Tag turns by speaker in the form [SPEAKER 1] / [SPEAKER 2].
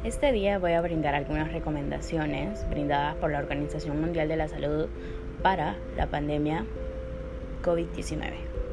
[SPEAKER 1] Este día voy a brindar algunas recomendaciones brindadas por la Organización Mundial de la Salud para la pandemia COVID-19.